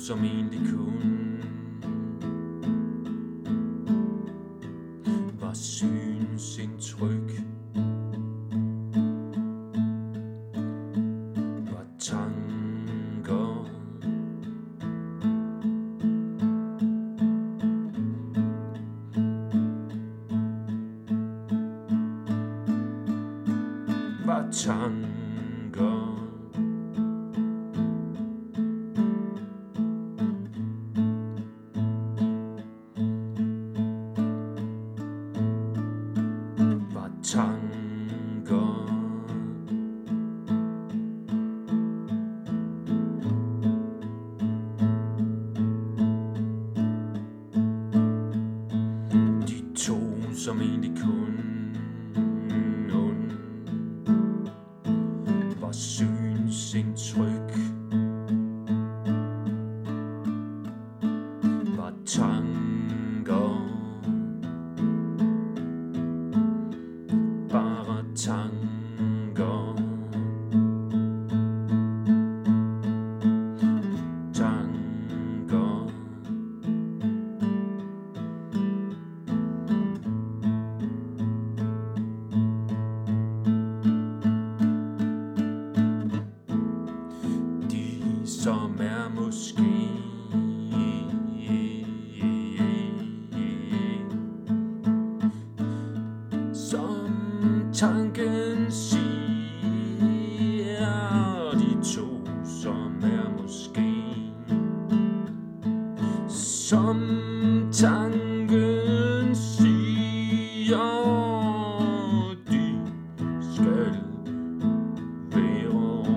som egentlig kun var synsindtryk, var tanker, var tanker. Tanker, de to som egentlig kun var synsindtryk, var tanker, bare tanker, tanker. De som er måske som tanken siger, de to som er måske som tanken siger, de skal være.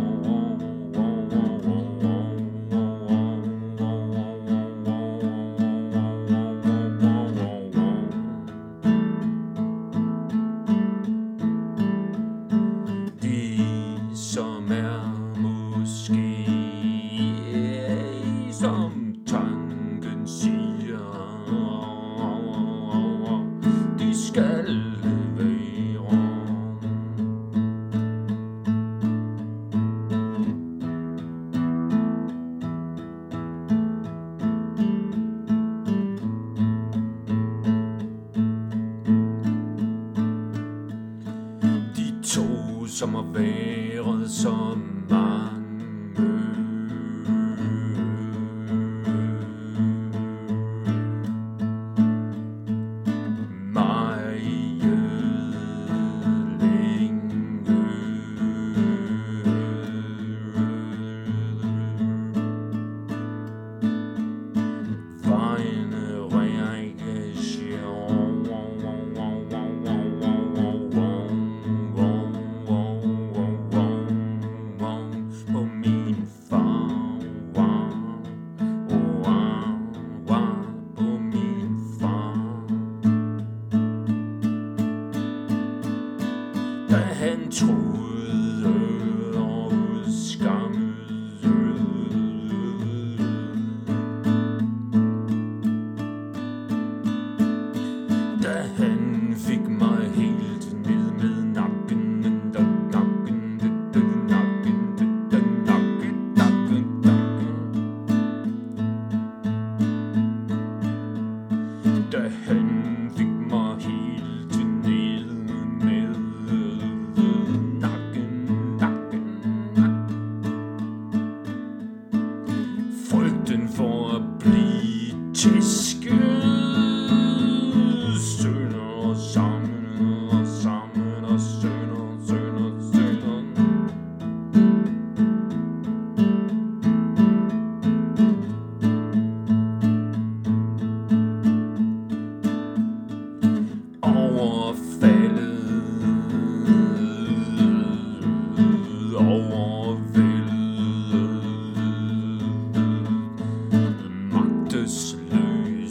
Som er måske som tanken siger, de skal være. De to som har været så mange, meget længe, var en reaktion på min far, på min far, da han troede og udskammede, da han fik mig helt ned med nakken. Da han fik mig helt ned med nakken. Frygten for at blive tæsket, sønder sammen og sammen og sønder. Overvældet, magtesløs.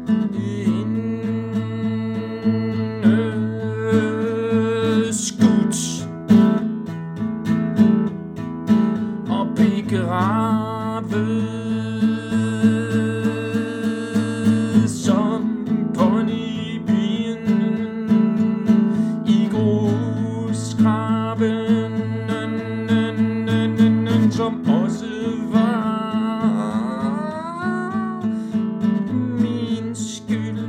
Skudt og begravet som ponyben i grusgraven, som også var min skyld,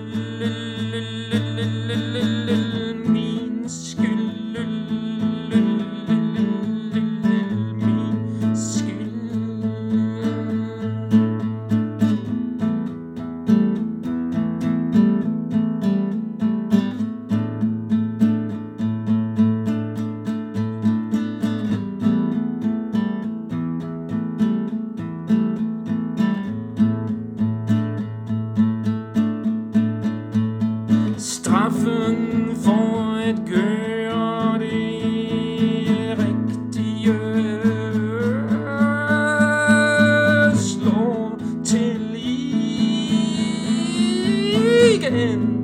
min skyld, min skyld. Straffen for at gøre det rigtige slår til igen.